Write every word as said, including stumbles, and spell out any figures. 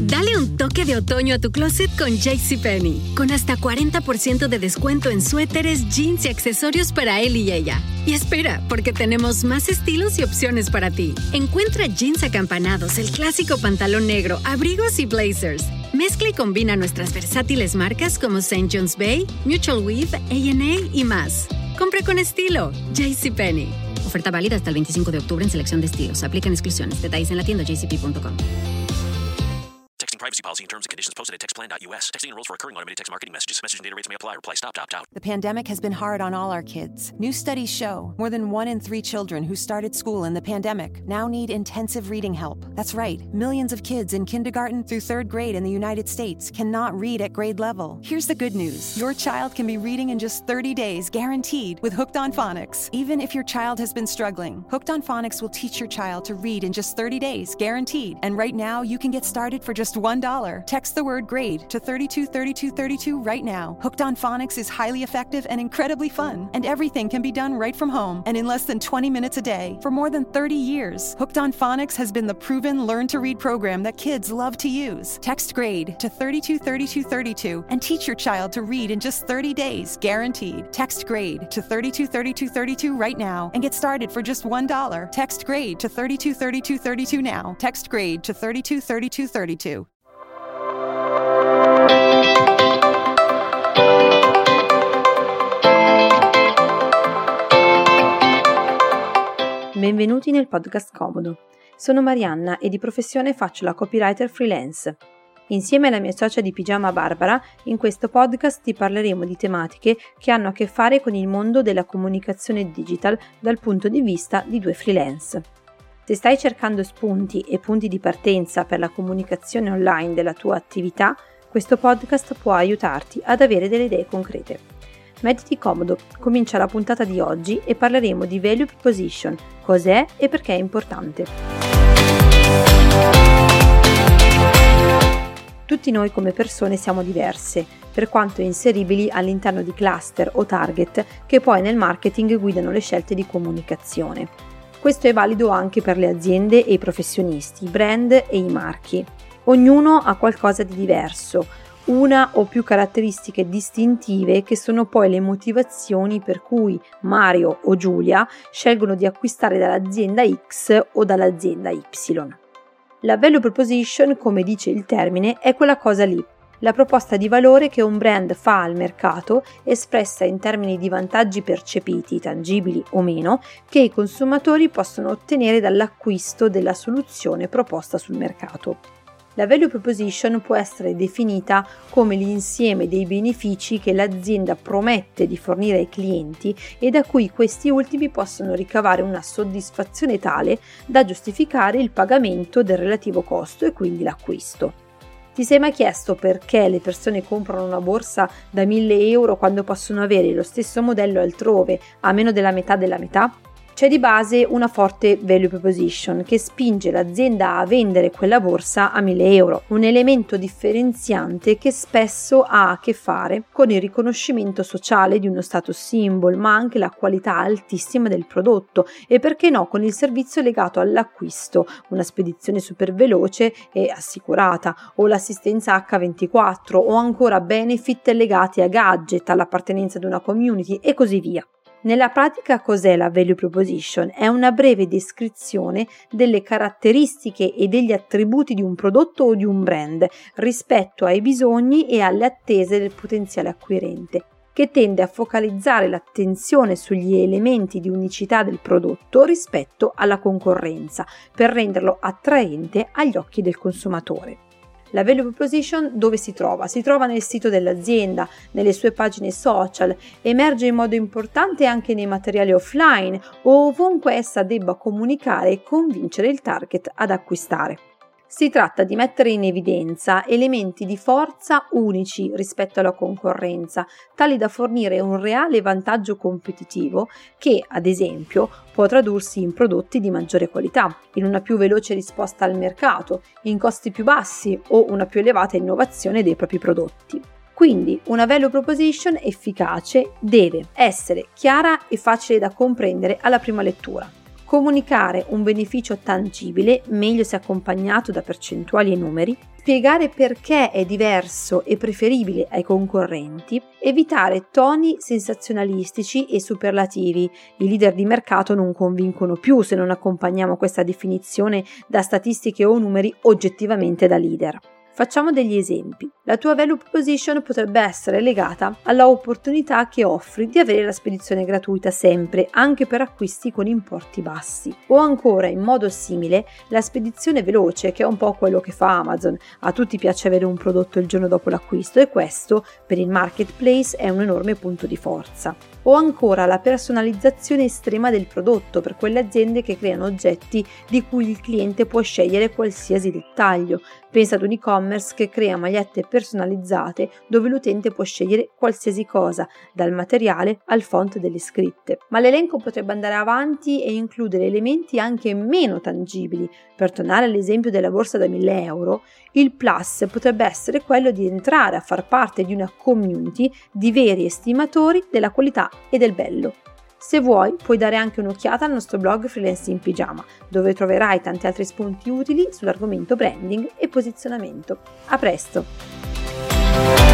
Dale un toque de otoño a tu closet con JCPenney, con hasta cuarenta por ciento de descuento en suéteres, jeans y accesorios para él y ella. Y espera, porque tenemos más estilos y opciones para ti. Encuentra jeans acampanados, el clásico pantalón negro, abrigos y blazers. Mezcla y combina nuestras versátiles marcas como Saint John's Bay, Mutual Weave, A and A y más. Compra con estilo. JCPenney. Oferta válida hasta el veinticinco de octubre en selección de estilos. Aplican exclusiones. Detalles en la tienda j c p punto com. Texting privacy policy and terms and conditions posted at text plan dot u s. Texting enrolls for recurring automated text marketing messages. Message and data rates may apply. Reply stop to opt out. The pandemic has been hard on all our kids. New studies show more than one in three children who started school in the pandemic now need intensive reading help. That's right. Millions of kids in kindergarten through third grade in the United States cannot read at grade level. Here's the good news. Your child can be reading in just thirty days, guaranteed, with Hooked on Phonics. Even if your child has been struggling, Hooked on Phonics will teach your child to read in just thirty days, guaranteed. And right now, you can get started for just one dollar. Text the word GRADE to thirty-two thirty-two thirty-two right now. Hooked on Phonics is highly effective and incredibly fun. And everything can be done right from home and in less than twenty minutes a day. For more than thirty years, Hooked on Phonics has been the proven learn-to-read program that kids love to use. Text GRADE to thirty-two thirty-two thirty-two and teach your child to read in just thirty days, guaranteed. Text GRADE to thirty-two thirty-two thirty-two right now and get started for just one dollar. Text GRADE to thirty-two thirty-two thirty-two now. Text GRADE to thirty-two thirty-two thirty-two. Benvenuti nel podcast Comodo. Sono Marianna e di professione faccio la copywriter freelance. Insieme alla mia socia di pigiama Barbara, in questo podcast ti parleremo di tematiche che hanno a che fare con il mondo della comunicazione digital dal punto di vista di due freelance. Se stai cercando spunti e punti di partenza per la comunicazione online della tua attività, questo podcast può aiutarti ad avere delle idee concrete. Mettiti comodo, comincia la puntata di oggi e parleremo di Value Proposition, cos'è e perché è importante. Tutti noi come persone siamo diverse, per quanto inseribili all'interno di cluster o target che poi nel marketing guidano le scelte di comunicazione. Questo è valido anche per le aziende e i professionisti, i brand e i marchi. Ognuno ha qualcosa di diverso, una o più caratteristiche distintive che sono poi le motivazioni per cui Mario o Giulia scelgono di acquistare dall'azienda X o dall'azienda Y. La value proposition, come dice il termine, è quella cosa lì, la proposta di valore che un brand fa al mercato, espressa in termini di vantaggi percepiti, tangibili o meno, che i consumatori possono ottenere dall'acquisto della soluzione proposta sul mercato. La value proposition può essere definita come l'insieme dei benefici che l'azienda promette di fornire ai clienti e da cui questi ultimi possono ricavare una soddisfazione tale da giustificare il pagamento del relativo costo e quindi l'acquisto. Ti sei mai chiesto perché le persone comprano una borsa da mille euro quando possono avere lo stesso modello altrove a meno della metà della metà? C'è di base una forte value proposition che spinge l'azienda a vendere quella borsa a mille euro, un elemento differenziante che spesso ha a che fare con il riconoscimento sociale di uno status symbol, ma anche la qualità altissima del prodotto e perché no con il servizio legato all'acquisto, una spedizione super veloce e assicurata, o l'assistenza acca ventiquattro, o ancora benefit legati a gadget, all'appartenenza ad una community e così via. Nella pratica cos'è la value proposition? È una breve descrizione delle caratteristiche e degli attributi di un prodotto o di un brand rispetto ai bisogni e alle attese del potenziale acquirente, che tende a focalizzare l'attenzione sugli elementi di unicità del prodotto rispetto alla concorrenza, per renderlo attraente agli occhi del consumatore. La value proposition dove si trova? Si trova nel sito dell'azienda, nelle sue pagine social, emerge in modo importante anche nei materiali offline o ovunque essa debba comunicare e convincere il target ad acquistare. Si tratta di mettere in evidenza elementi di forza unici rispetto alla concorrenza, tali da fornire un reale vantaggio competitivo che, ad esempio, può tradursi in prodotti di maggiore qualità, in una più veloce risposta al mercato, in costi più bassi o una più elevata innovazione dei propri prodotti. Quindi una value proposition efficace deve essere chiara e facile da comprendere alla prima lettura. comunicare un beneficio tangibile, meglio se accompagnato da percentuali e numeri, spiegare perché è diverso e preferibile ai concorrenti, evitare toni sensazionalistici e superlativi. I leader di mercato non convincono più se non accompagniamo questa definizione da statistiche o numeri oggettivamente da leader. Facciamo degli esempi. La tua value proposition potrebbe essere legata alla opportunità che offri di avere la spedizione gratuita sempre, anche per acquisti con importi bassi. O ancora, in modo simile, la spedizione veloce, che è un po' quello che fa Amazon. A tutti piace avere un prodotto il giorno dopo l'acquisto e questo, per il marketplace, è un enorme punto di forza. O ancora la personalizzazione estrema del prodotto per quelle aziende che creano oggetti di cui il cliente può scegliere qualsiasi dettaglio. Pensa ad un e-commerce che crea magliette personalizzate dove l'utente può scegliere qualsiasi cosa, dal materiale al font delle scritte. Ma l'elenco potrebbe andare avanti e includere elementi anche meno tangibili. Per tornare all'esempio della borsa da mille euro, il plus potrebbe essere quello di entrare a far parte di una community di veri estimatori della qualità e del bello. Se vuoi, puoi dare anche un'occhiata al nostro blog Freelance in Pigiama, dove troverai tanti altri spunti utili sull'argomento branding e posizionamento. A presto!